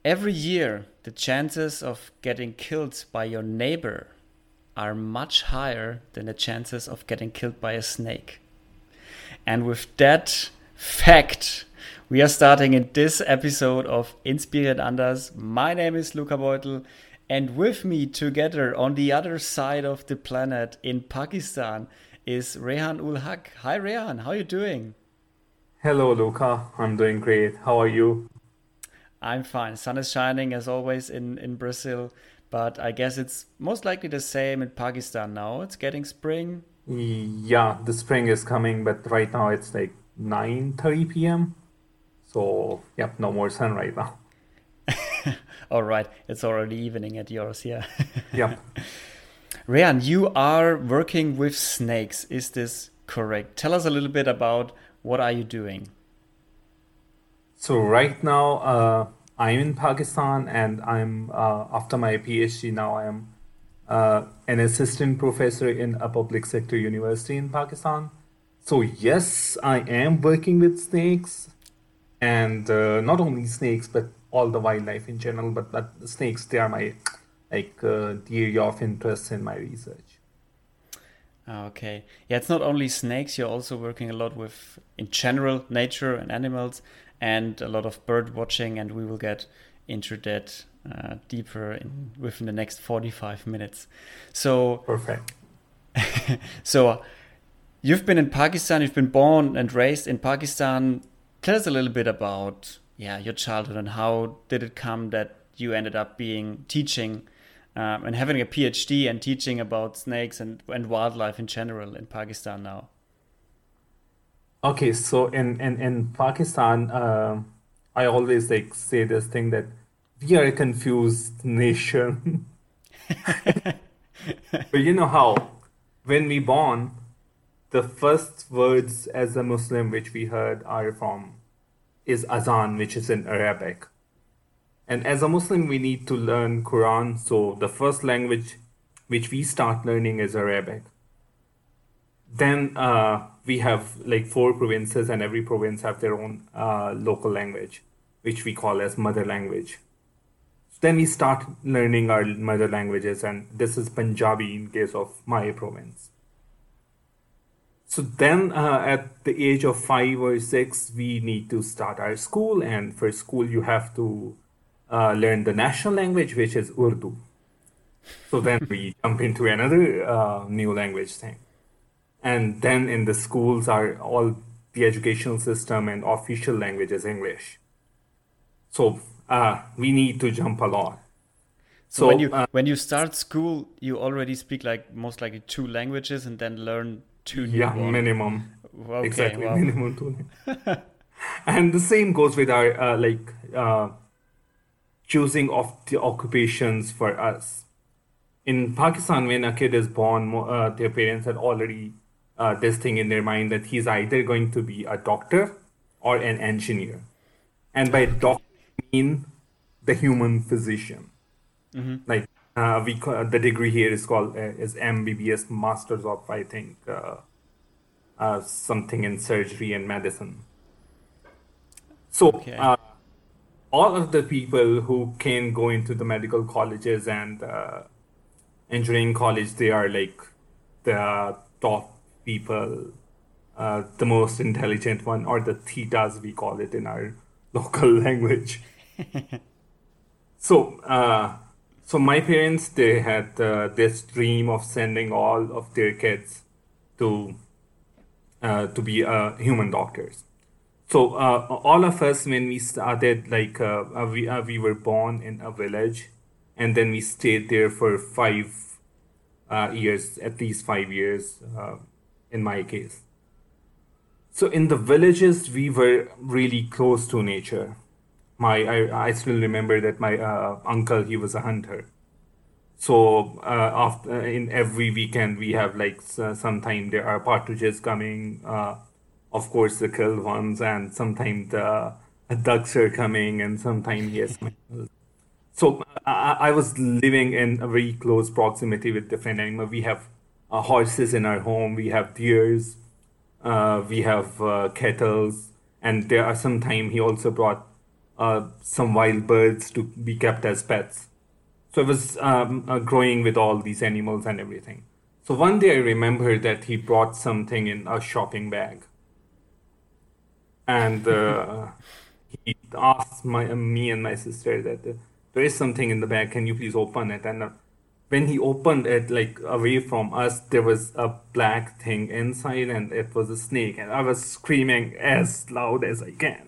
Every year, the chances of getting killed by your neighbor are much higher than the chances of getting killed by a snake. And with that fact, we are starting in this episode of Inspiriert Anders. My name is Luca Beutel, and with me together on the other side of the planet in Pakistan is Rehan ul Haq. Hi Rehan, how are you doing? Hello, Luca. I'm doing great. How are you? I'm fine. Sun is shining as always in Brazil, but I guess it's most likely the same in Pakistan now. It's getting spring. Yeah, the spring is coming, but right now it's like 9:30 p.m. So, yep, no more sun right now. All right, it's already evening at yours, yeah. Yep. Rehan, you are working with snakes. Is this correct? Tell us a little bit about what are you doing? So right now, I'm in Pakistan and I'm after my PhD now I am an assistant professor in a public sector university in Pakistan. So yes, I am working with snakes and not only snakes but all the wildlife in general. But the snakes they are my the area of interest in my research. Okay. Yeah, it's not only snakes, you're also working a lot with, in general, nature and animals, and a lot of bird watching, and we will get into that deeper within the next 45 minutes. So, Perfect. so you've been in Pakistan, you've been born and raised in Pakistan. Tell us a little bit about, yeah, your childhood and how did it come that you ended up being teaching and having a PhD and teaching about snakes and wildlife in general in Pakistan now. Okay, so in Pakistan, I always like say this thing that we are a confused nation. But you know how when we born, the first words as a Muslim which we heard are from is azan, which is in Arabic. And as a Muslim, we need to learn Quran. So the first language which we start learning is Arabic. Then we have like four provinces, and every province have their own local language, which we call as mother language. Then we start learning our mother languages, and this is Punjabi in case of my province. So then, at the age of 5 or 6, we need to start our school, and for school, you have to learn the national language, which is Urdu. So then we jump into another new language thing. And then in the schools are all the educational system and official language is English. So we need to jump a lot. So when So you start school, you already speak like most likely two languages and then learn two new yeah, one. minimum, Okay, exactly, wow. minimum two. And the same goes with our choosing of the occupations for us. In Pakistan, when a kid is born, their parents had already this thing in their mind that he's either going to be a doctor or an engineer. And by Okay. doctor, I mean the human physician. Hmm. Like the degree here is called is MBBS, Masters of I think something in surgery and medicine. So Okay. all of the people who can go into the medical colleges and engineering college, they are like the top people, the most intelligent one, or the thetas, we call it in our local language. So, so my parents, they had this dream of sending all of their kids to to be human doctors. So all of us, when we started, we were born in a village, and then we stayed there for 5 years, at least 5 years, in my case. So in the villages, we were really close to nature. I still remember that my uncle, he was a hunter. So after in every weekend we have like sometime there are partridges coming, of course the killed ones, and sometimes the ducks are coming, and sometimes yes. So I was living in a very close proximity with different animals. We have horses in our home. We have deers. We have kettles, and there are sometimes he also brought. some wild birds to be kept as pets. So I was growing with all these animals and everything. So one day I remember that he brought something in a shopping bag, and he asked me and my sister that there is something in the bag. Can you please open it? And when he opened it, like away from us, there was a black thing inside, and it was a snake. And I was screaming as loud as I can.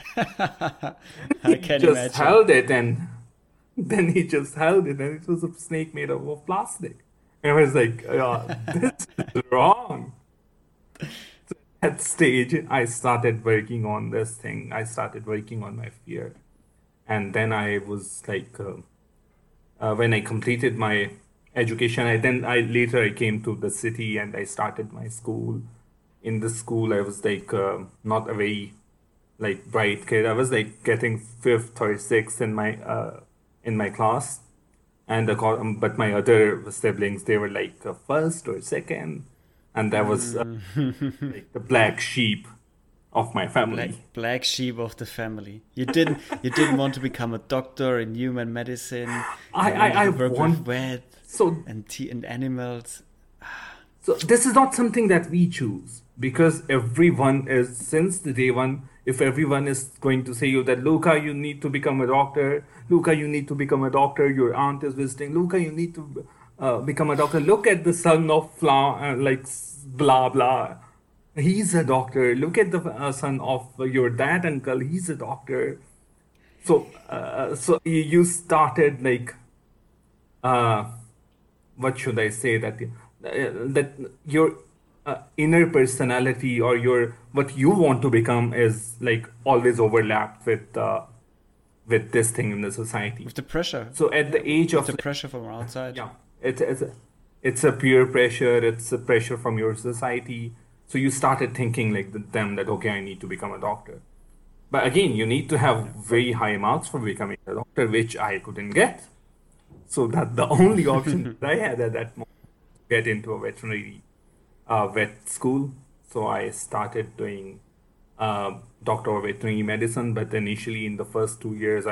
I He can just imagine. held it, and then he just held it, and it was a snake made of plastic. And I was like, this is wrong. At that stage, I started working on this thing. I started working on my fear. And then I was like, when I completed my education, I later I came to the city and I started my school. In the school, I was like not a very like bright kid. I was like getting fifth or sixth in my class, and but my other siblings they were like first or second, and that was like the black sheep of my Black family. black sheep of the family. You didn't want to become a doctor in human medicine. I You I, wanted I to work with want vet so and animals. So this is not something that we choose because everyone is since the day one. If everyone is going to say you that Luca, you need to become a doctor. Luca, you need to become a doctor. Your aunt is visiting. Luca, you need to become a doctor. Look at the son of blah blah. He's a doctor. Look at the son of your dad uncle. He's a doctor. So you started like uh, what should I say that your inner personality or your what you want to become is like always overlapped with this thing in the society. With the pressure. So at Yeah, the age with of the like pressure from outside. yeah, it's a peer pressure, it's a pressure from your society. So you started thinking like them that okay, I need to become a doctor. But again, you need to have Yeah. very high marks for becoming a doctor, which I couldn't get. So that the only option that I had at that moment get into a veterinary vet school. So I started doing doctor of veterinary medicine, but initially in the first 2 years,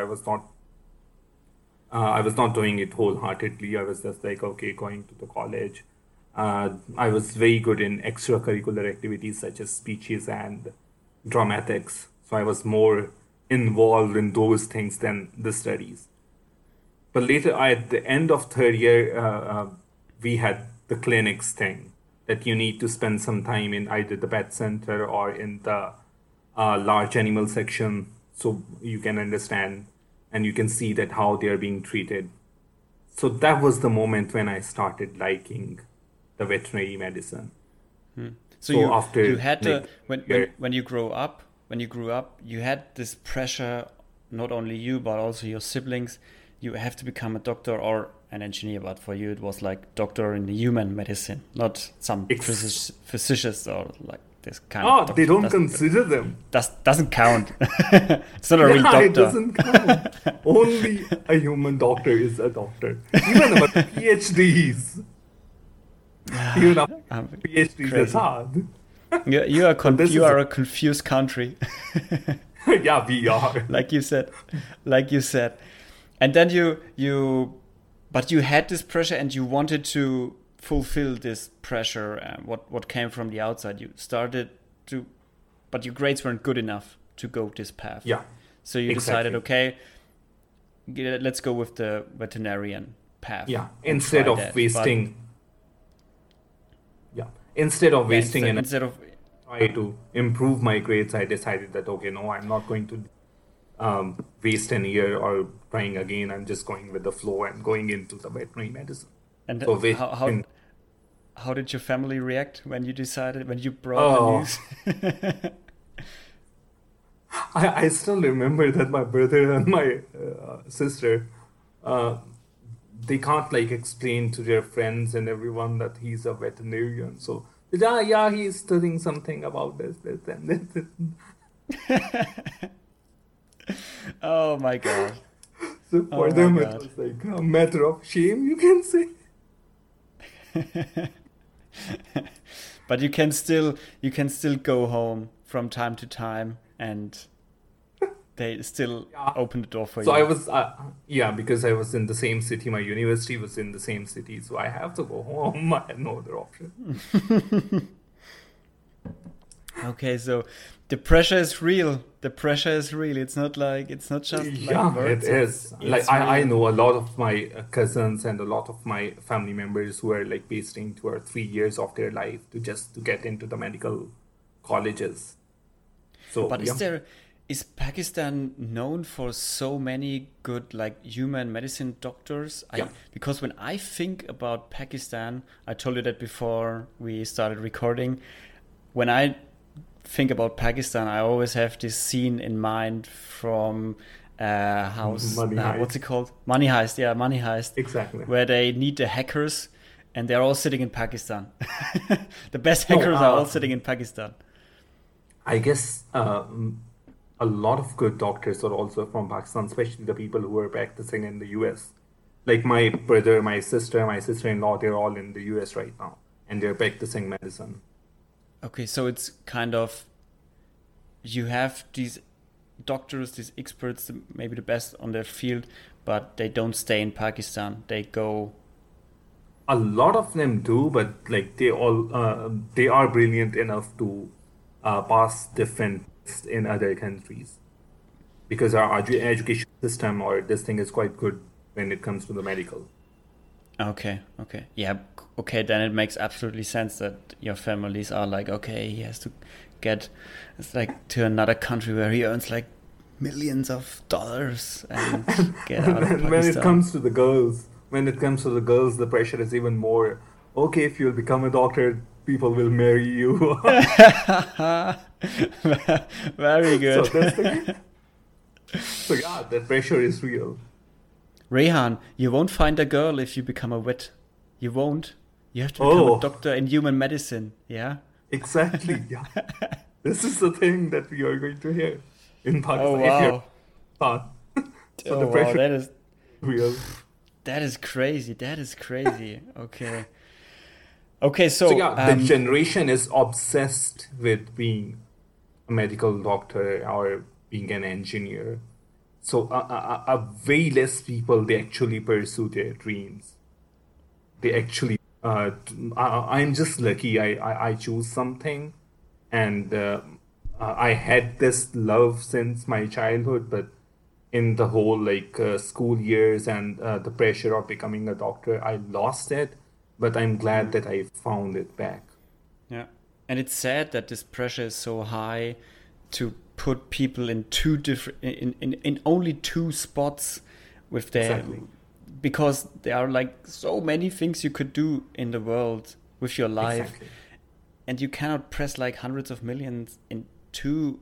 I was not doing it wholeheartedly. I was just like, okay, going to the college. I was very good in extracurricular activities such as speeches and dramatics. So I was more involved in those things than the studies. But later, at the end of third year, we had the clinics thing that you need to spend some time in either the pet center or in the large animal section so you can understand and you can see that how they are being treated. So that was the moment when I started liking the veterinary medicine. So So you after had like to third year, when you grow up when you grew up you had this pressure, not only you but also your siblings. You have to become a doctor or an engineer, but for you it was like doctor in the human medicine, not some ex- physicist or like this kind of oh, they doctor. don't consider them. Doesn't count. It's not a real Yeah, it doctor. doesn't count. Only a human doctor is a doctor. Even our PhDs, even our PhDs is Crazy. hard. So this You is, are a confused country. yeah, we are. Like you said, like you said. And then but you had this pressure and you wanted to fulfill this pressure and what came from the outside. You started to, but your grades weren't good enough to go this path. Yeah, So you decided, exactly. okay, let's go with the veterinarian path Yeah, and try instead of that. But instead of yeah, wasting an instead of try to improve my grades, I decided that okay, no, I'm not going to waste an year or trying again. I'm just going with the flow and going into the veterinary medicine. and So which how did your family react when you decided when you brought the oh, news? I still remember that my brother and my sister, uh, they can't like explain to their friends and everyone that he's a veterinarian. So yeah, he's studying something about this, and this. Oh my god. So Oh for my them, it god. was like a matter of shame, you can say. But you can still go home from time to time and they still Yeah. open the door for So I you. was, yeah, because I was in the same city, my university was in the same city, so I have to go home. I had no other option. Okay, so the pressure is real. The pressure is real. It's not just like Yeah, it words. is. Like It's I real. know a lot of my cousins and a lot of my family members who are like wasting 2 or 3 years of their life to get into the medical colleges. So But yeah, is Pakistan known for so many good like human medicine doctors? yeah. I Because when I think about Pakistan, I told you that before we started recording. When I think about Pakistan, I always have this scene in mind from Money what's it heist. called? Money Heist, yeah, Money Heist, Exactly. where they need the hackers and they're all sitting in Pakistan. The best No, hackers are all sitting in Pakistan. I guess a lot of good doctors are also from Pakistan, especially the people who are practicing in the US. Like my brother, my sister-in-law, they're all in the US right now, and they're practicing medicine. Okay, so it's kind of you have these doctors, these experts, maybe the best on their field, but they don't stay in Pakistan. They go. A lot of them do, but like they are brilliant enough to pass different tests in other countries because our education system or this thing is quite good when it comes to the medical. Okay, okay, yeah, okay. Then it makes absolutely sense that your families are like, okay, he has to get, it's like to another country where he earns like millions of dollars and get And out of then when it Pakistan. comes to the girls, the pressure is even more. Okay, if you'll become a doctor, people will marry you. Very So good. that's the so yeah, that pressure is real. Rehan, you won't find a girl if you become a vet. You won't. You have to become a Oh, doctor in human medicine. Yeah. exactly. Yeah, this is the thing that we are going to hear in Oh Pakistan if you're wow. not. So the Oh wow. pressure is real. That is crazy. That is crazy. Okay. Okay. So So yeah, the generation is obsessed with being a medical doctor or being an engineer. So way less people they actually pursue their dreams. They actually I'm just lucky. I choose something, and I had this love since my childhood, but in the whole like school years and the pressure of becoming a doctor, I lost it. But I'm glad mm, that I found it back. yeah, and it's sad that this pressure is so high to put people in two different in only two spots with their Exactly. because there are like so many things you could do in the world with your life Exactly. and you cannot press like hundreds of millions in two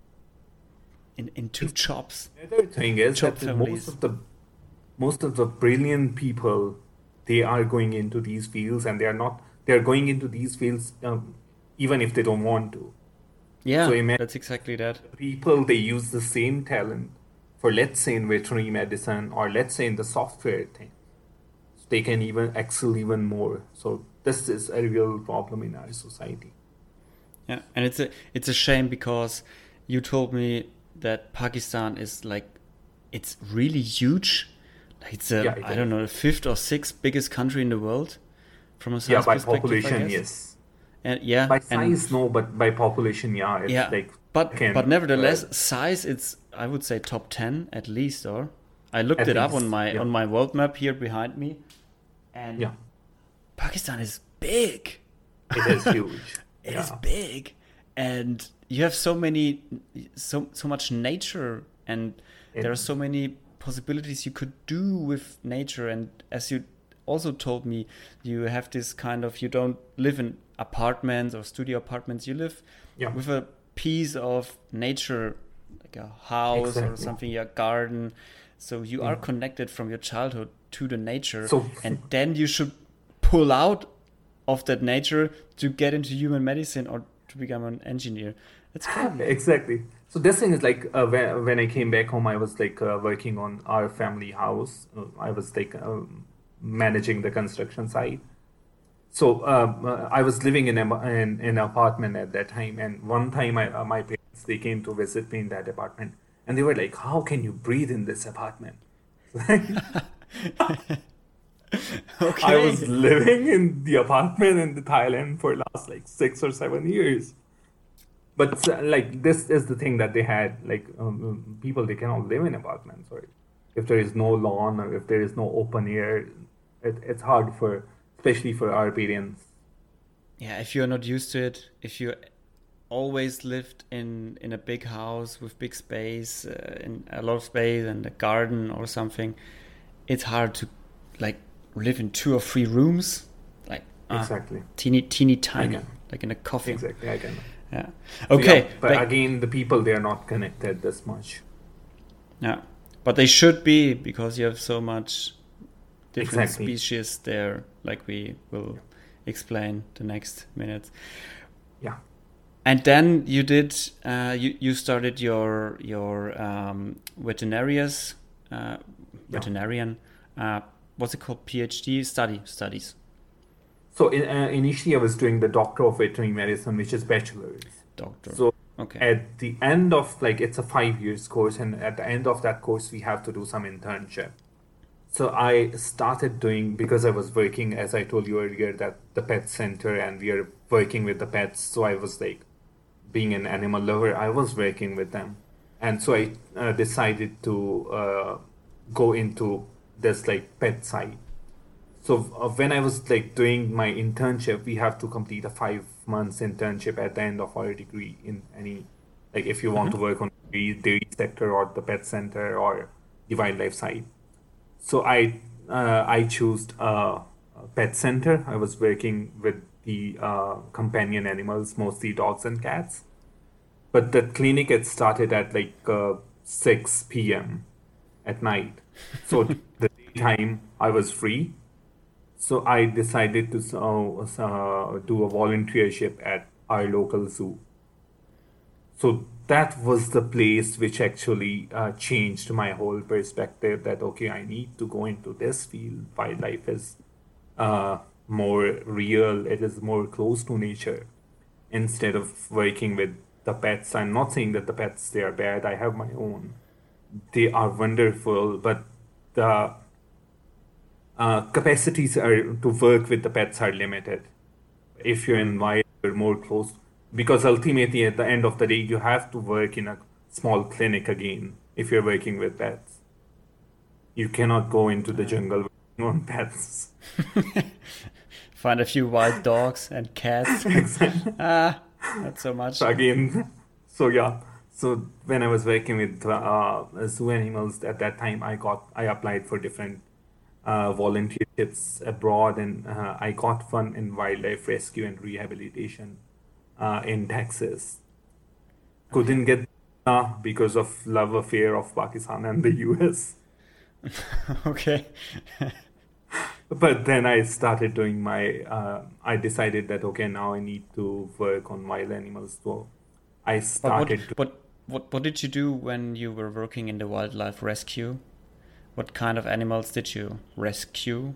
in two jobs The other thing is job that families. most of the brilliant people they are going into these fields and they are going into these fields even if they don't want to. So Yeah, imagine that's exactly that. the people they use the same talent for let's say in veterinary medicine or let's say in the software thing. So they can even excel even more. So this is a real problem in our society. Yeah, and it's a shame because you told me that Pakistan is like it's really huge. Like it's a Yeah, it I don't is. know the fifth or sixth biggest country in the world from a Yeah, size by perspective, I population, guess. yes. And yeah, By and size, no, but by population, yeah, it's yeah, like but second, nevertheless, third, size it's I would say top 10 at least. Or I looked at it up least. Yeah, on my world map here behind me, and yeah, Pakistan is big. it is huge. It is Yeah, big, and you have so much nature, and it, there are so many possibilities you could do with nature. And as you also told me, you have this kind of you don't live in apartments or studio apartments. You live yeah, with a piece of nature, like a house or exactly. something, a garden. So you are Yeah. connected from your childhood to the nature, So and then you should pull out of that nature to get into human medicine or to become an engineer. That's crazy. exactly. So this thing is like when I came back home, I was like working on our family house. I was like managing the construction site. So I was living in an apartment at that time, and one time my parents they came to visit me in that apartment, And they were like, how can you breathe in this apartment? I was Okay. living in the apartment in the Thailand for last like 6 or 7 years. But like this is the thing that they had like people they cannot live in apartments or if there is no lawn or if there is no open air, it's hard for especially for our parents. Yeah, if you're not used to it, if you always lived in a big house with big space, in a lot of space and a garden or something, it's hard to like live in 2 or 3 rooms, like Exactly. teeny I tiny, can. like in a coffin. Exactly. I can. Yeah. So yeah, Okay. but again, the people they are not connected this much. Yeah, but they should be because you have so much different Exactly. species there, like we will explain the next minutes. Yeah. And then you did you started your veterinarians uh, Yeah. veterinarian what's it called, PhD studies. So initially, I was doing the Doctor of Veterinary Medicine, which is bachelor's. Doctor. So Okay. at the end of like it's a 5 years course, and at the end of that course, we have to do some internship. So I started doing because I was working, as I told you earlier, that the pet center, and we are working with the pets. So I was like, being an animal lover, I was working with them, and so I decided to go into this like pet side. So when I was like doing my internship, we have to complete a 5 months internship at the end of our degree in any, like if you want to work on the dairy sector or the pet center or the wildlife side. So I chose a pet center. I was working with the companion animals, mostly dogs and cats. But the clinic had started at like 6 p.m. at night. So the daytime I was free. So I decided to do a volunteership at our local zoo. So that was the place which actually changed my whole perspective that, okay, I need to go into this field. Wildlife is more real, it is more close to nature instead of working with the pets. I'm not saying that the pets they are bad. I have my own. They are wonderful, but the capacities are to work with the pets are limited. If you're in wild, you're more close because ultimately at the end of the day you have to work in a small clinic again if you're working with pets. You cannot go into the jungle working on pets. Find a few wild dogs and cats. Exactly. Not so much. So again, so yeah. So when I was working with zoo animals at that time, I applied for different volunteerships abroad, and I got one in wildlife rescue and rehabilitation in Texas. Okay. Couldn't get because of love affair of Pakistan and the US. Okay. But then I started doing I decided that okay, now I need to work on wild animals. So I But started to, what did you do when you were working in the wildlife rescue? What kind of animals did you rescue?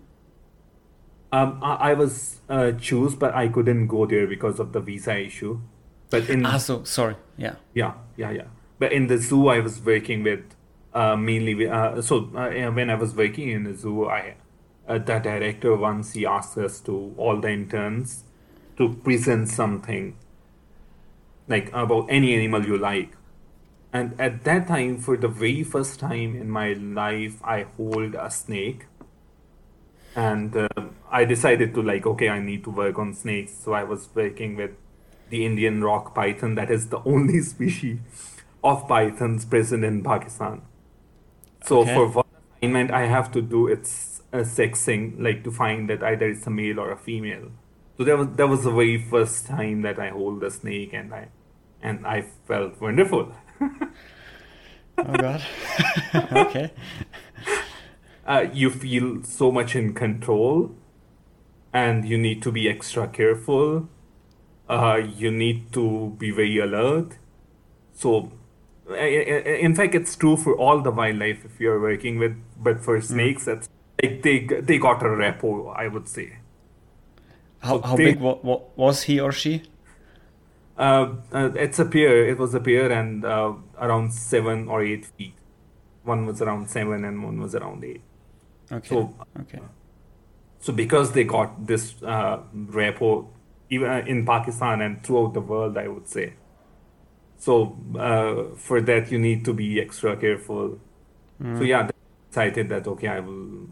I was choose, but I couldn't go there because of the visa issue. But Ah, in so sorry. Yeah. yeah, yeah, yeah. But in the zoo, I was working with mainly with, yeah, when I was working in the zoo, I the director once he asked us to all the interns to present something like about any animal you like. And at that time, for the very first time in my life, I hold a snake, and I decided to like, okay, I need to work on snakes. So I was working with the Indian rock python. That is the only species of pythons present in Pakistan. So Okay. for one assignment, I have to do its sexing, like to find that either it's a male or a female. So that was the very first time that I hold a snake, and I felt wonderful. Oh God. Okay. You feel so much in control, and you need to be extra careful. You need to be very alert. So, in fact, it's true for all the wildlife if you're working with, but for Mm. snakes, that's like they got a repo, I would say. How So how they big was he or she? it's a pair. It was a pair, and around 7 or 8 feet. One was around 7 and one was around 8. Okay. So, Okay. so because they got this repo even in Pakistan and throughout the world, I would say. So for that, you need to be extra careful. So Mm. yeah, I decided that okay, I will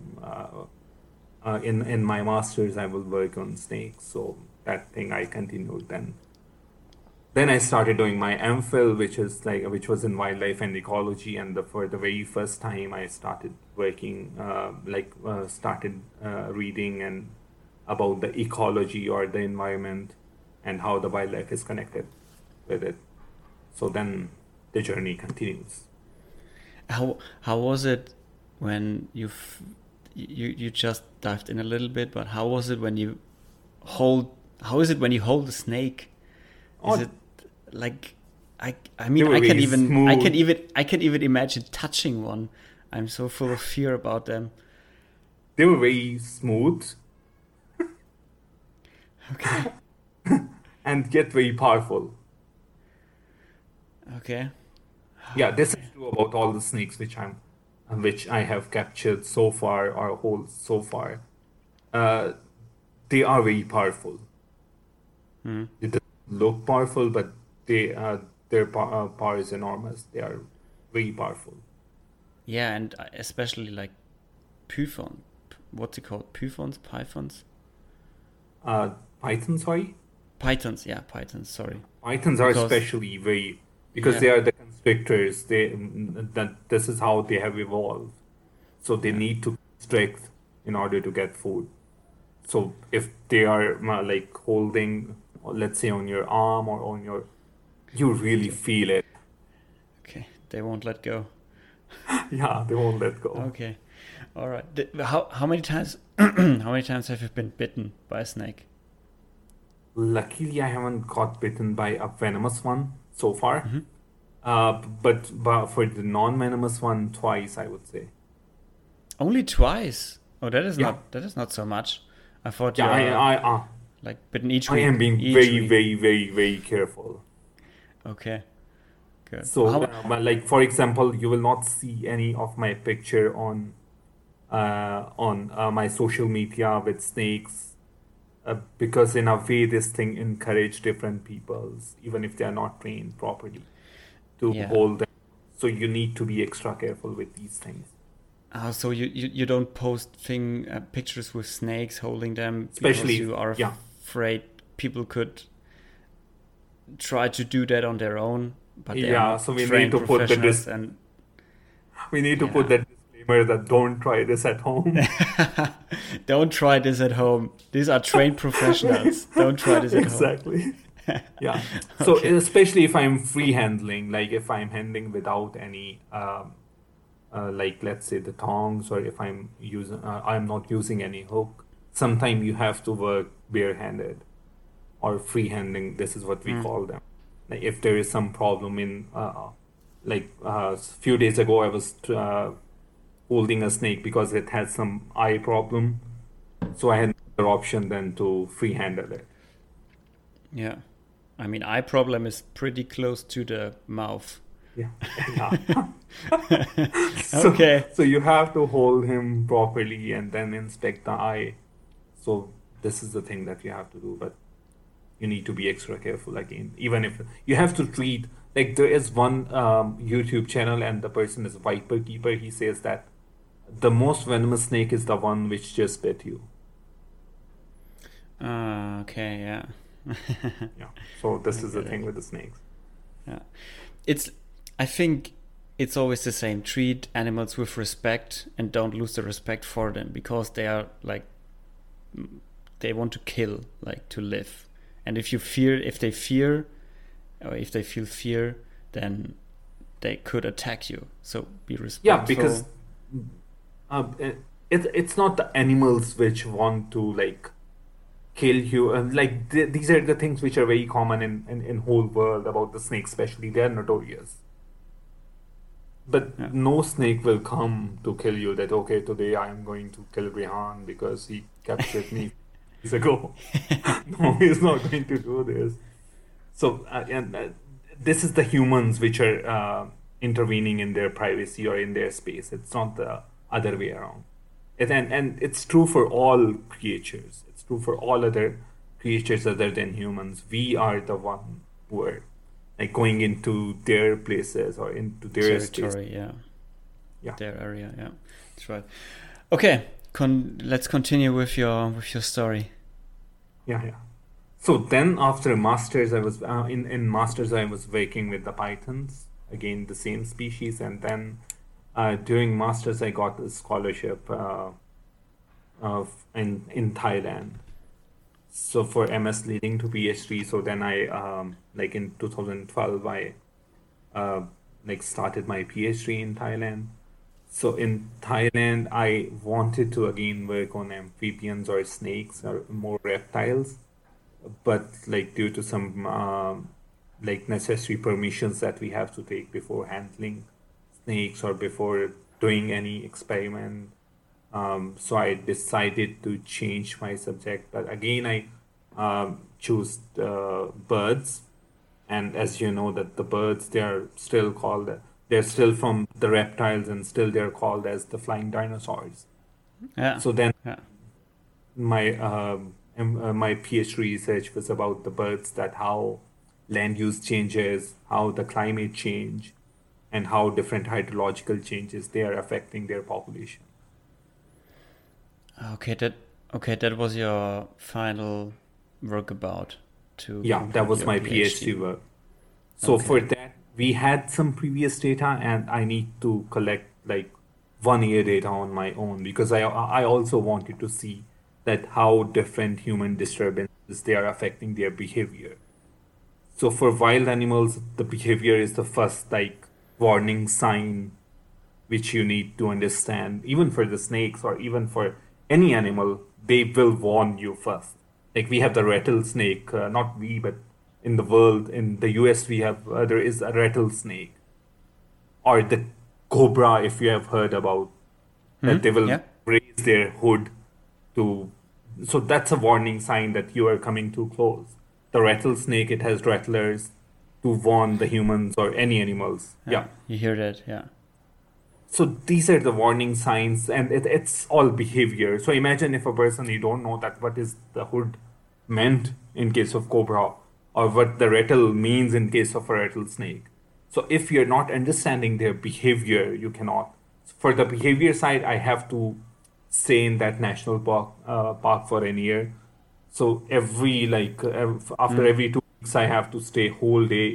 in my masters I will work on snakes. So that thing I continued then. Then I started doing my MPhil, which was in wildlife and ecology, and for the very first time I started working, started reading and about the ecology or the environment and how the wildlife is connected with it. So then the journey continues. How was it when you just dived in a little bit, but how was it when you hold how is it when you hold a snake? Is Oh, it like I they mean were very smooth. I can even imagine touching one. I'm so full of fear about them. They were very smooth Okay. and yet very powerful. Okay. Yeah, this is Okay. true about all the snakes which I have captured so far or hold so far. Uh, they are very powerful. Hmm. They don't look powerful, but their power is enormous. They are very powerful. Yeah, and especially like python. What's it called? Pythons? Pythons? Uh, Pythons, sorry? Pythons, yeah, pythons, sorry. Pythons are Because especially very because yeah, they are the constrictors. That this is how they have evolved. So they yeah. need to constrict in order to get food. So if they are like holding, let's say on your arm or on your, you really Okay. feel it. Okay. They won't let go. Yeah, they won't let go. Okay. All right. How many times how many times have you been bitten by a snake? Luckily, I haven't got bitten by a venomous one so far. Hmm. But for the non-venomous one, twice, I would say. Only twice. Oh, Yeah, that is not so much. I thought yeah, you're like bitten each I am week. being Each very, week. very, very, very careful. Okay. Good. So, How? but like for example, you will not see any of my picture on my social media with snakes because in a way this thing encourage different peoples, even if they are not trained properly, to Yeah. hold them. So you need to be extra careful with these things, So you don't post pictures with snakes holding them because especially if, you are yeah, afraid people could try to do that on their own, but they are yeah. So not trained professionals and we need to put yeah. that disclaimer that don't try this at home. Don't try this at home. These are trained professionals. Don't try this at home. Exactly. Yeah. So Okay. especially if I'm free handling, like if I'm handling without any, like let's say the tongs, or if I'm not using any hook. Sometimes you have to work barehanded or free handling. This is what we Mm. call them. Like if there is some problem in, a few days ago, I was holding a snake because it had some eye problem. So I had no other option than to free handle it. Yeah. I mean, eye problem is pretty close to the mouth. Yeah, yeah. So, Okay. so you have to hold him properly and then inspect the eye. So this is the thing that you have to do, but you need to be extra careful again. Even if you have to treat, like there is one YouTube channel and the person is Viper Keeper. He says that the most venomous snake is the one which just bit you. Okay. Yeah. Yeah. So I this is the get it. thing with the snakes. Yeah. It's. I think it's always the same. Treat animals with respect and don't lose the respect for them because they are like they want to kill, like to live. And if they fear, or if they feel fear, then they could attack you. So be Yeah, because respectful. it's not the animals which want to like kill you. These are the things which are very common in whole world about the snakes, especially they are notorious. But Yeah. no snake will come to kill you. That okay, today I am going to kill Rihan because he captured me years ago. No, he's not going to do this. So this is the humans which are intervening in their privacy or in their space. It's not the other way around. And it's true for all creatures. It's true for all other creatures other than humans. We are the one who are like going into their places or into their space. Territory, yeah. Yeah. Their area, yeah. That's right. Okay, let's continue with your story. Yeah. So then after masters, I was in masters I was working with the pythons, again the same species, and then during masters I got a scholarship in Thailand. So for MS leading to PhD, so then I like in 2012 I like started my PhD in Thailand. So in Thailand, I wanted to again work on amphibians or snakes or more reptiles, but like due to some like necessary permissions that we have to take before handling snakes or before doing any experiment, so I decided to change my subject. But again, I choose birds, and as you know that the birds they're still from the reptiles and still they're called as the flying dinosaurs. Yeah. So then Yeah. my PhD research was about the birds, that how land use changes, how the climate change, and how different hydrological changes they are affecting their population. Okay, that was your final work about to Yeah, that conclude was your my PhD. PhD work. So for Okay. that, we had some previous data, and I need to collect like 1 year data on my own, because I also wanted to see that how different human disturbances they are affecting their behavior. So for wild animals, the behavior is the first like warning sign which you need to understand. Even for the snakes or even for any animal, they will warn you first. Like we have the rattlesnake, not we, but in the world, in the US, we have there is a rattlesnake or the cobra, if you have heard about that, they will Yeah. raise their hood to. So that's a warning sign that you are coming too close. The rattlesnake, it has rattlers to warn the humans or any animals. Yeah. Yeah. You hear that? Yeah. So these are the warning signs, and it's all behavior. So imagine if a person you don't know that what is the hood meant in case of cobra, or what the rattle means in case of a rattlesnake. So if you're not understanding their behavior, you cannot. For the behavior side, I have to stay in that national park for an year. So every after every 2 weeks, I have to stay whole day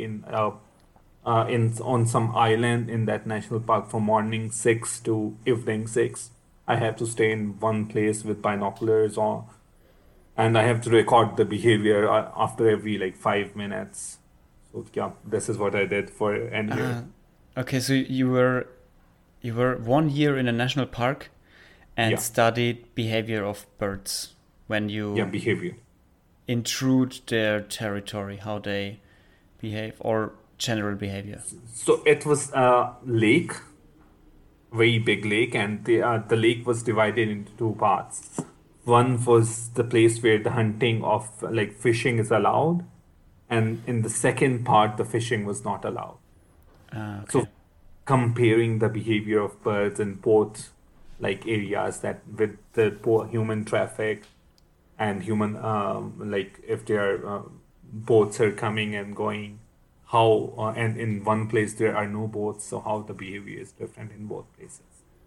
in on some island in that national park from morning 6 to evening 6. I have to stay in one place with binoculars on, and I have to record the behavior after every like 5 minutes. So yeah, this is what I did for an year. Okay, so you were 1 year in a national park and Yeah, studied behavior of birds when yeah, you behavior. intrude their territory, how they behave, or general behavior. So it was a lake, very big lake, and the lake was divided into two parts. One was the place where the hunting of like fishing is allowed, and in the second part, the fishing was not allowed. So Okay. comparing the behavior of birds in both like areas, that with the human traffic and human like if their boats are coming and going, how and in one place there are no boats, so how the behavior is different in both places.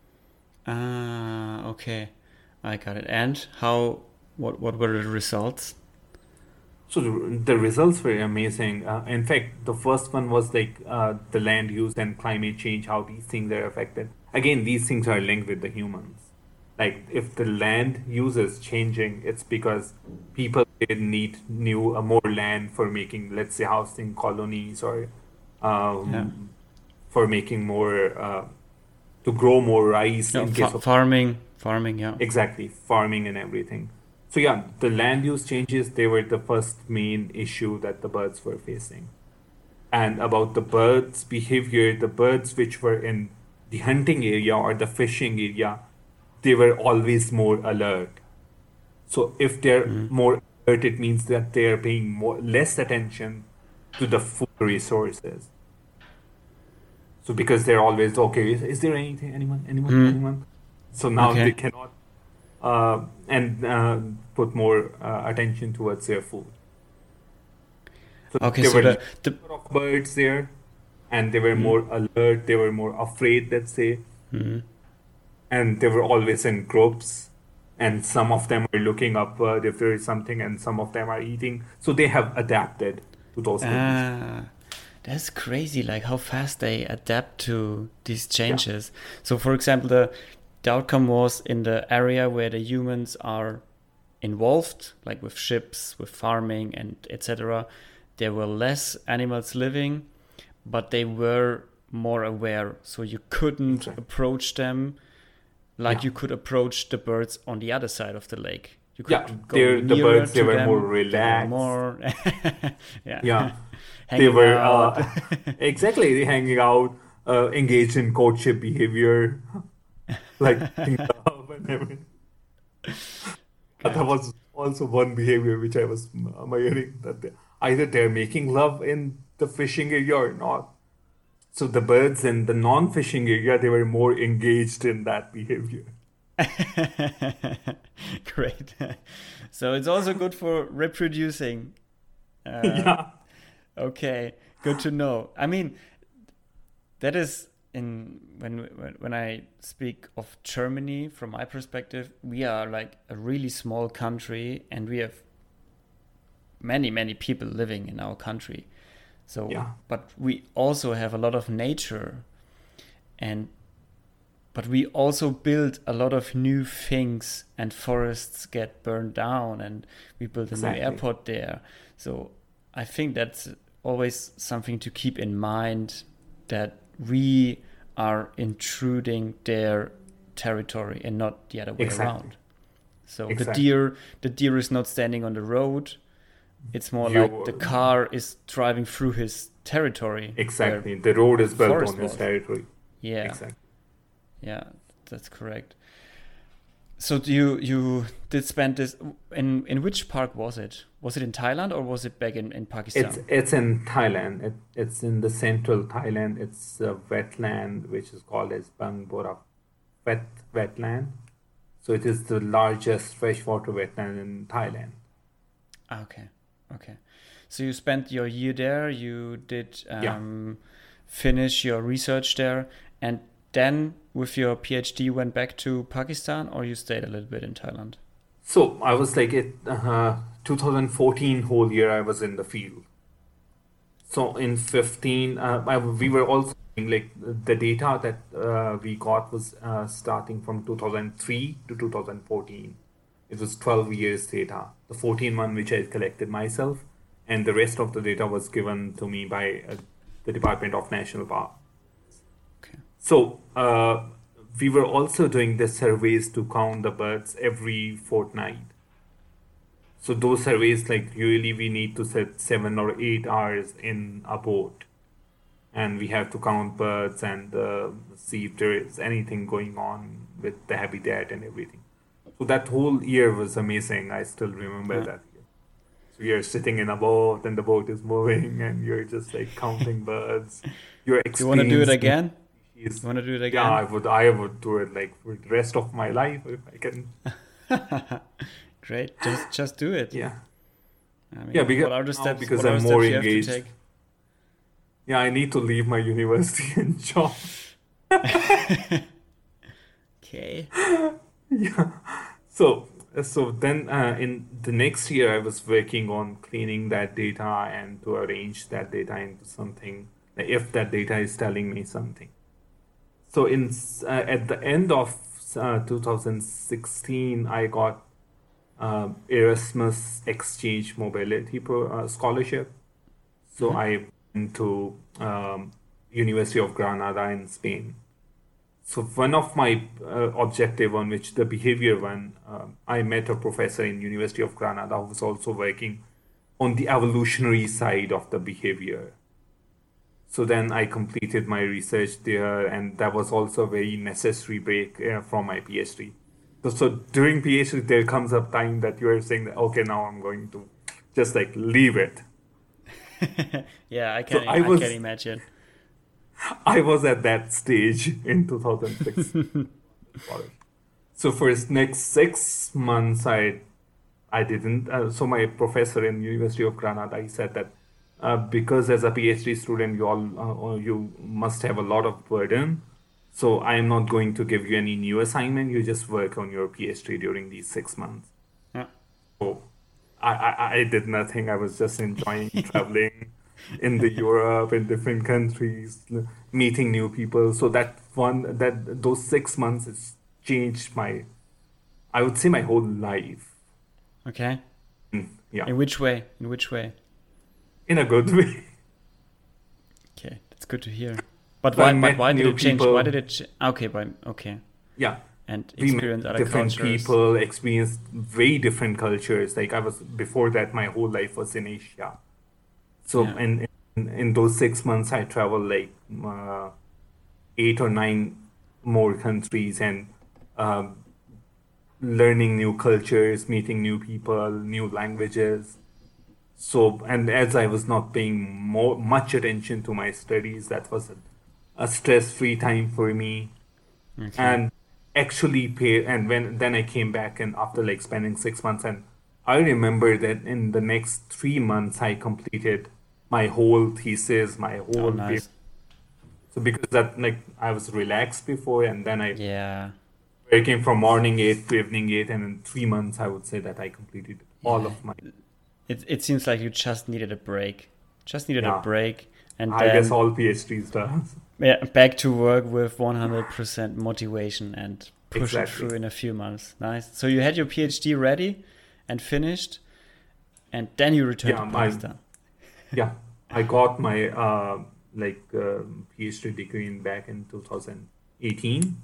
Okay. I got it. And what were the results? So the results were amazing. In fact, the first one was like the land use and climate change, how these things are affected. Again, these things are linked with the humans. Like if the land use is changing, it's because people they need more land for making, let's say, housing colonies, or Yeah. for making more to grow more rice No, in case of farming, yeah. exactly farming and everything. So yeah, the land use changes, they were the first main issue that the birds were facing. And about the birds' behavior, the birds which were in the hunting area or the fishing area, they were always more alert. So if they're more alert, it means that they are paying less attention to the food resources. So because they're always okay, is there anything, Hmm. anyone? So now they Okay. cannot and put more attention towards their food. So Okay. there So were the number of birds there, and they were hmm. more alert. They were more afraid, let's say, Hmm. and they were always in groups. And some of them are looking upward if there is something, and some of them are eating. So they have adapted to those conditions. Ah, that's crazy. Like how fast they adapt to these Yeah, changes. So, for example, the outcome was in the area where the humans are involved, like with ships, with farming, and etc. There were less animals living, but they were more aware. So you couldn't exactly. approach them like Yeah, you could approach the birds on the other side of the lake. You yeah. could go The nearer birds, they to were more them. They were relaxed. more, yeah, Yeah, they hanging were out. exactly hanging out, engaged in courtship behavior, like making love and everything. That Good. was also one behavior which I was admiring that either they're making love in the fishing area or not. So the birds in the non-fishing area, they were more engaged in that behavior. Great. So it's also good for reproducing. Uh, Yeah, okay, good to know. I mean, that is in when I speak of Germany from my perspective, we are like a really small country and we have many people living in our country. So, yeah, but we also have a lot of nature and but we also build a lot of new things and forests get burned down and we build a new exactly. airport there. So I think that's always something to keep in mind that we are intruding their territory and not the other way Exactly. around. So Exactly. the deer is not standing on the road. It's more like the You car is driving through his territory where exactly. The road is built on forest his was. territory. Yeah, Exactly. yeah, that's correct. So you did spend this in which park was it? Was it in Thailand or was it back in Pakistan? It's in Thailand. It's in the central Thailand. It's a wetland which is called as Bangbora wet wetland. So it is the largest freshwater wetland in Thailand. Ah, okay, okay. So you spent your year there. You did Yeah. finish your research there, and then with your PhD went back to Pakistan, or you stayed a little bit in Thailand. So I was like it 2014 whole year I was in the field. So in 15, we were also doing like the data that we got was starting from 2003 to 2014. It was 12 years data. The 14 one which I collected myself, and the rest of the data was given to me by the Department of National Park. Okay. So we were also doing the surveys to count the birds every fortnight. So those surveys, like usually we need to set 7 or 8 hours in a boat, and we have to count birds and see if there is anything going on with the habitat and everything. So that whole year was amazing. I still remember Yeah. that year. So you're sitting in a boat and the boat is moving and you're just like counting birds. You're You want to do it experiencing again? You species. want to do it Yeah, again? I would do it like for the rest of my life if I can. Great. Just do it. Yeah. I Yeah, mean, because what are the now steps? because What are I'm the more steps you have to engaged. take? Yeah, I need to leave my university and job. Okay. Yeah. So then in the next year, I was working on cleaning that data and to arrange that data into something, like if that data is telling me something. So at the end of 2016, I got Erasmus Exchange Mobility Scholarship. So Hmm. I went to University of Granada in Spain. So one of my objective on which the behavior one, I met a professor in University of Granada who was also working on the evolutionary side of the behavior. So then I completed my research there, and that was also a very necessary break from my PhD. So during PhD, there comes a time that you are saying that, okay, now I'm going to just like leave it. Yeah, So I can imagine. I was at that stage in 2006 college. So for his next 6 months, I didn't. So my professor in University of Granada, he said that because as a PhD student, you must have a lot of burden. So I am not going to give you any new assignment. You just work on your PhD during these 6 months. Yeah. So I did nothing. I was just enjoying traveling in the Europe, in different countries, meeting new people. So those 6 months has changed I would say my whole life. Okay. Yeah, In which way? In which way? in a good way. Okay, that's good to hear. But So I but met why did new it change? Why did people. it? Okay, okay, Yeah, and we met experience other different cultures. people, experienced very different cultures. Like I was before that, my whole life was in Asia. So Yeah. in those 6 months, I traveled like 8 or 9 more countries and um, learning new cultures, meeting new people, new languages. So, and as I was not paying much attention to my studies, that was a stress-free time for me. Okay. And actually pay, and when then I came back and after like spending 6 months, and I remember that in the next 3 months I completed my whole thesis, my Oh, whole paper. nice. So because that like I was relaxed before, and then I Yeah. working from morning 8 to evening 8, and in 3 months I would say that I completed all Yeah. of my. It seems like you just needed a break. Just needed a Yeah, break, and I guess then all PhDs does. yeah, back to work with 100% motivation and push it through Exactly. in a few months. Nice. So you had your PhD ready and finished, and then you returned to Yeah, Pakistan. yeah, I got my PhD degree in back in 2018.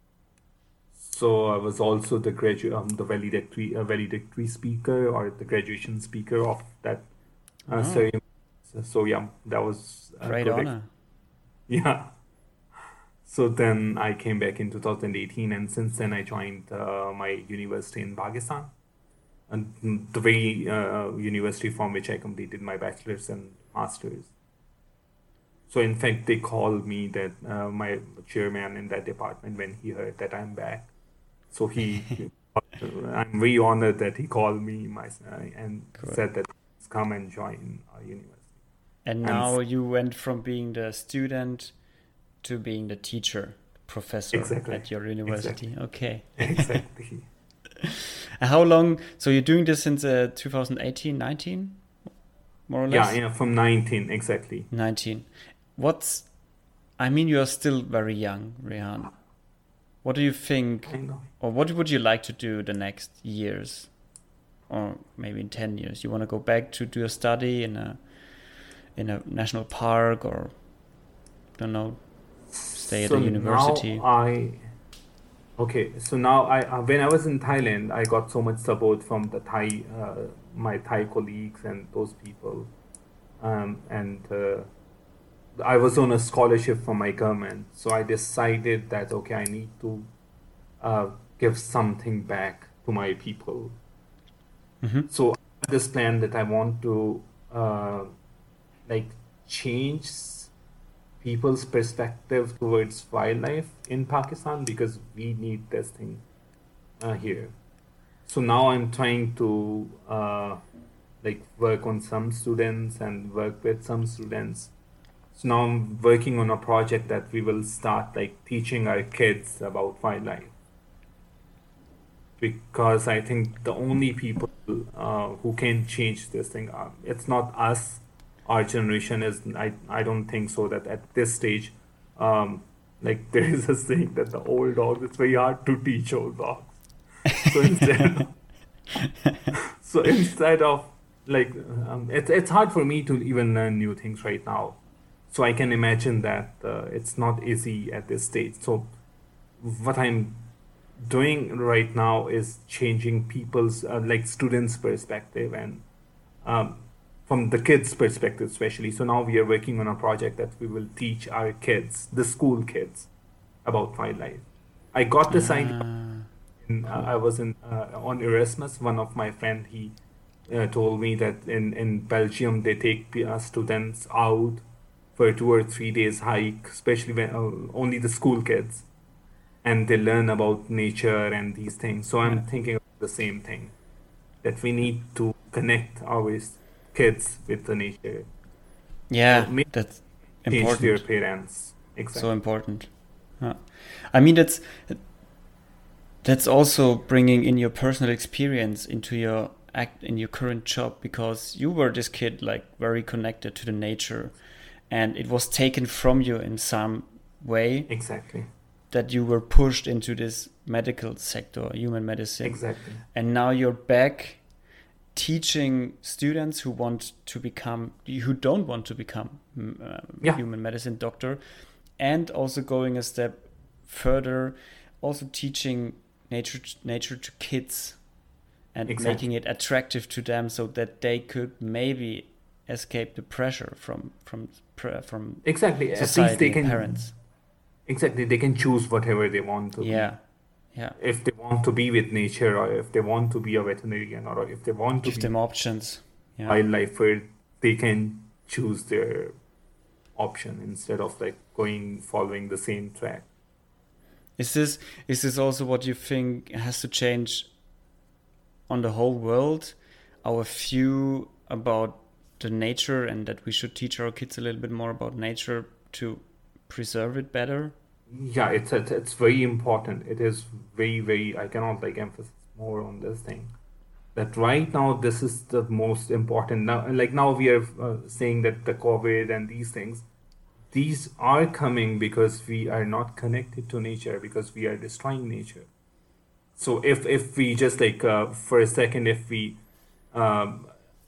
So I was also the valedictory speaker or the graduation speaker of that Oh, ceremony. So yeah, that was a great good honor. yeah. So then I came back in 2018, and since then I joined my university in Pakistan, and the very university from which I completed my bachelor's and master's. So in fact, they called me that my chairman in that department when he heard that I'm back. So I'm very honored that he called me and Cool. said that come and join our university. And And now you went from being the student to being the teacher, professor exactly, at your exactly, university. Okay. exactly. And how long? So you're doing this since 2018, 19, more or Yeah, less? yeah, from 19, exactly. 19. What's, I mean, you're still very young, Rehan. What do you think, I know. or what would you like to do the next years, or maybe in 10 years? You want to go back to do a study in a national park, or don't know, stay at So a now university? okay, so now when I was in Thailand, I got so much support from my Thai colleagues and those people. And I was on a scholarship from my government. So I decided that, okay, I need to uh, give something back to my people. Mm-hmm. So I have this plan that I want to uh, like change people's perspective towards wildlife in Pakistan because we need this thing here. So now I'm trying to like work on some students and work with some students. So now I'm working on a project that we will start like teaching our kids about wildlife because I think the only people who can change this thing, it's not us. Our generation is, I don't think so that at this stage, um, like there is a saying that the old dogs, it's very hard to teach old dogs. So instead, so instead of like, it's hard for me to even learn new things right now. So I can imagine that it's not easy at this stage. So what I'm doing right now is changing people's like students' perspective and um, from the kids' perspective, especially. So now we are working on a project that we will teach our kids, the school kids, about wildlife. I got this idea. Ah, I cool. was in on Erasmus. One of my friend he told me that in Belgium they take students out for 2 or 3 days hike, especially when only the school kids, and they learn about nature and these things. So Yeah. I'm thinking of the same thing, that we need to connect our kids with the nature. So Yeah, maybe that's change their important. parents. So Exactly. important. Yeah. I mean, that's also bringing in your personal experience into your act in your current job, because you were this kid like very connected to the nature, and it was taken from you in some way, Exactly. that you were pushed into this medical sector, human medicine, Exactly. and now you're back teaching students who don't want to become Yeah, human medicine doctor, and also going a step further, also teaching nature to kids, and making exactly. it attractive to them, so that they could maybe escape the pressure from Exactly. At least society they and can, parents. exactly, they can choose whatever they want to be. Yeah, yeah. If they want to be with nature, or if they want to be a veterinarian, or if they want to Give be them options. Yeah. wildlifer, they can choose their option instead of like going following the same track. Is this also what you think has to change on the whole world? Our view about the nature, and that we should teach our kids a little bit more about nature to preserve it better? Yeah, it's very important. It is very, I cannot like emphasize more on this thing. That right now this is the most important. Now, like now we are saying that the COVID and these are coming because we are not connected to nature, because we are destroying nature. So if we just like for a second, um,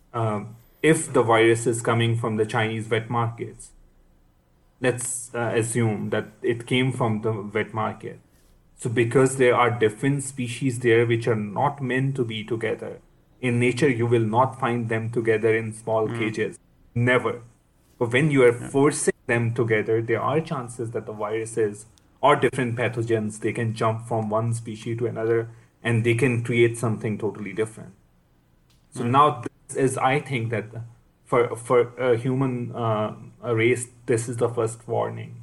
if the virus is coming from the Chinese wet markets, let's assume that it came from the wet market. So because there are different species there which are not meant to be together. In nature, you will not find them together in small Mm, cages. Never. But when you are yeah. forcing them together, there are chances that the viruses or different pathogens, they can jump from one species to another, and they can create something totally different. So Mm, now this is, I think that for a human race, this is the first warning.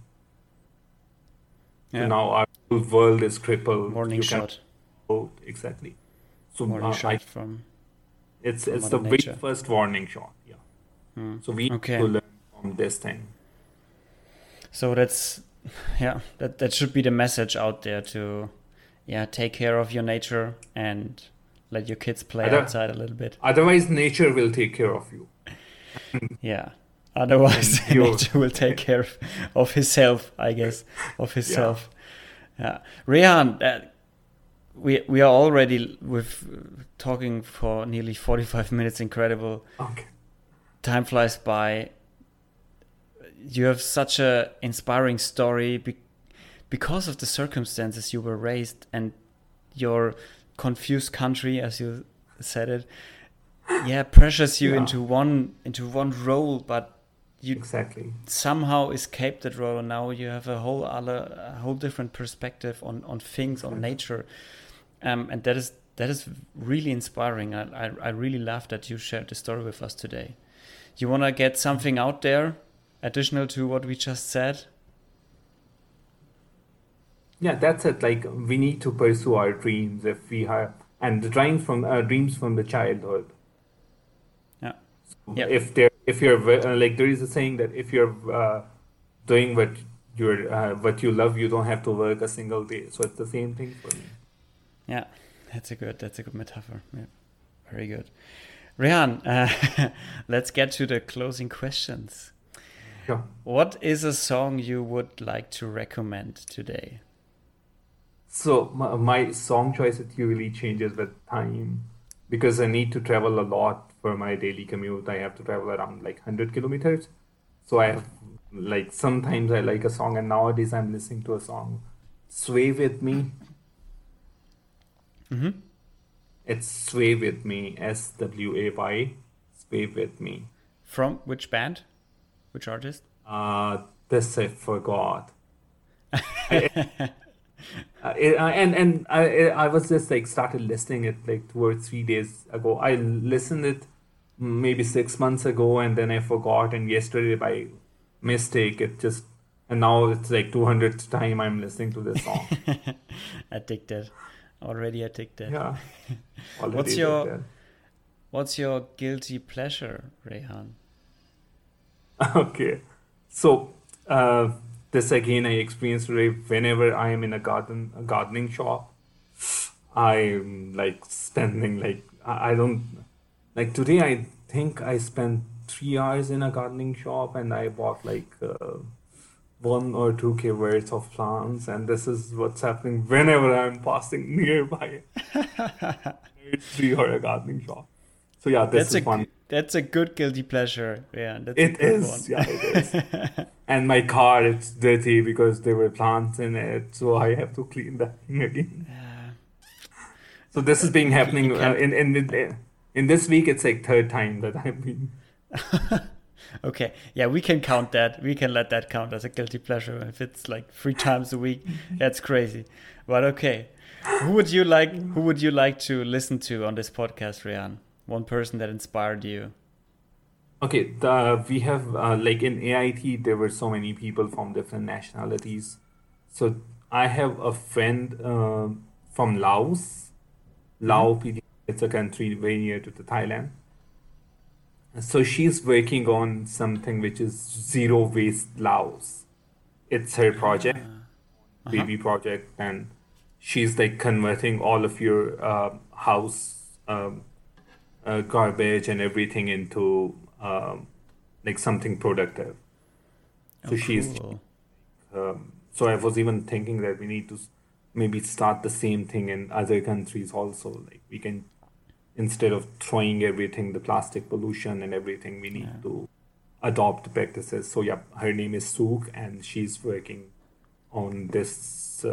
So yeah. now our whole world is crippled. Warning You can shot. vote exactly. So Warning I shot from from it's the Mother very Nature. first warning shot. Yeah. Mm. So we need to Okay. learn from this thing. So that's yeah, that should be the message out there, to take care of your nature and let your kids play Other, outside a little bit. Otherwise, nature will take care of you, Yeah. Otherwise, and you. nature will take care of himself, I guess, of Yeah. himself. Yeah. Rehan, we are already with talking for nearly 45 minutes. Incredible. Okay. Time flies by. You have such a inspiring story, because of the circumstances you were raised, and your confused country, as you said it. Yeah, pressures you Yeah. into one role, but you Exactly. somehow escaped that role, and now you have a whole different perspective on things, on Exactly. nature, and that is really inspiring. I really love that you shared the story with us today. You want to get something out there additional to what we just said? Yeah, that's it. Like we need to pursue our dreams if we have, and the dreams from the childhood. Yeah, So yeah, if you're like there is a saying that if you're doing what you love, you don't have to work a single day. So it's the same thing for me. yeah. That's a good metaphor. Yeah, very good. Rehan, let's get to the closing questions. Sure. What is a song you would like to recommend today? So my song choice, it usually changes with time because I need to travel a lot for my daily commute. I have to travel around like 100 kilometers. So I have like sometimes I like a song, and nowadays I'm listening to a song, Sway With Me. Mm-hmm. It's Sway With Me, SWAY, Sway With Me. From which band? Which artist? This I forgot. I And I was just like started listening it like 2 or 3 days ago. I listened it maybe 6 months ago, and then I forgot. And yesterday by mistake, and now it's like 200th time I'm listening to this song. Addicted. Already addicted. Yeah, already What's your addicted. what's your guilty pleasure, Rehan? Okay, so uh, this again I experienced today. Whenever I am in a gardening shop, I'm like spending like I don't like today. I think I spent 3 hours in a gardening shop, and I bought like 1 or 2 K worth of plants. And this is what's happening whenever I'm passing nearby a nursery or a gardening shop. So yeah, this That's a is one. that's a good guilty pleasure. Yeah, that's a It good one. is, yeah, it is. And my car, it's dirty because there were plants in it, so I have to clean that thing again. Yeah, So this is being you happening can't. in this week. It's like third time that I've been. Okay, yeah, we can count that. We can let that count as a guilty pleasure if it's like 3 times a week. That's crazy. But okay, who would you like to listen to on this podcast, Rian? One person that inspired you. Okay, we have like in AIT there were so many people from different nationalities. So I have a friend from Laos. Mm-hmm. Laos, it's a country very near to the Thailand. So she's working on something which is zero waste Laos. It's her project, Ah, uh-huh. baby project, and she's like converting all of your house garbage and everything into like something productive. Oh, So she's cool. so I was even thinking that we need to maybe start the same thing in other countries also. Like we can, instead of throwing everything, the plastic pollution and everything, we need Yeah. to adopt practices. So yeah, her name is Sook, and she's working on this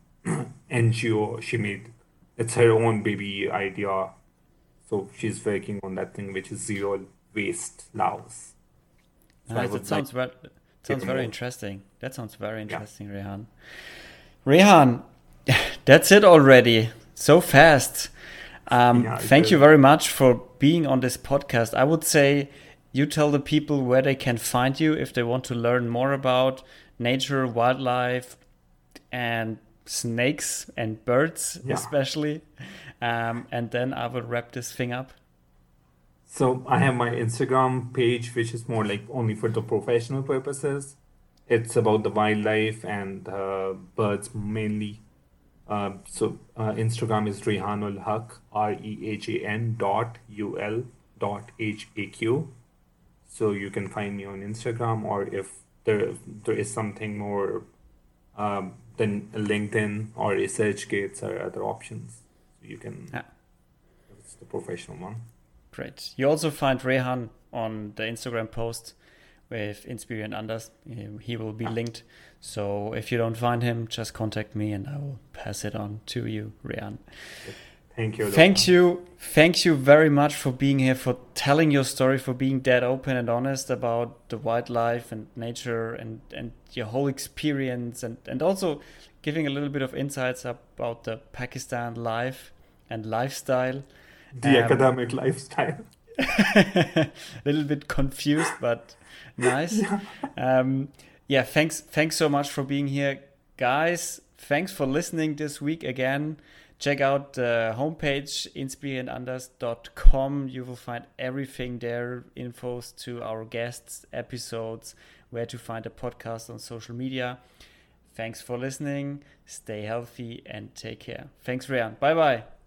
NGO she made. It's her own baby idea. So she's working on that thing which is zero waste Laos. So I Nice. would like to Sounds hear very more. interesting. That sounds very Yeah. interesting, Rehan. Rehan, that's it already. So fast. Yeah, it Thank is. you very much for being on this podcast. I would say you tell the people where they can find you if they want to learn more about nature, wildlife, and snakes and birds, Yeah. especially. And then I will wrap this thing up. So I have my Instagram page, which is more like only for the professional purposes. It's about the wildlife and birds mainly. Instagram is Rehanul Haq, REHAN dot UL dot HAQ. So you can find me on Instagram, or if there is something more, then LinkedIn or ResearchGates are other options. So you can, Yeah, it's the professional one. great. You also find Rehan on the Instagram post with Inspire and Anders. He will be Yeah. linked. So if you don't find him, just contact me and I will pass it on to you, Rehan. Thank you, Lohan. Thank you very much for being here, for telling your story, for being that open and honest about the wildlife and nature and your whole experience and also giving a little bit of insights about the Pakistan life and lifestyle. The Um, academic lifestyle. a little bit confused, but nice. Yeah. Um, yeah, thanks so much for being here, guys. Thanks for listening this week again. Check out the homepage inspireandanders.com. You will find everything there, infos to our guests, episodes, where to find a podcast on social media. Thanks for listening. Stay healthy and take care. Thanks, Rian. Bye bye.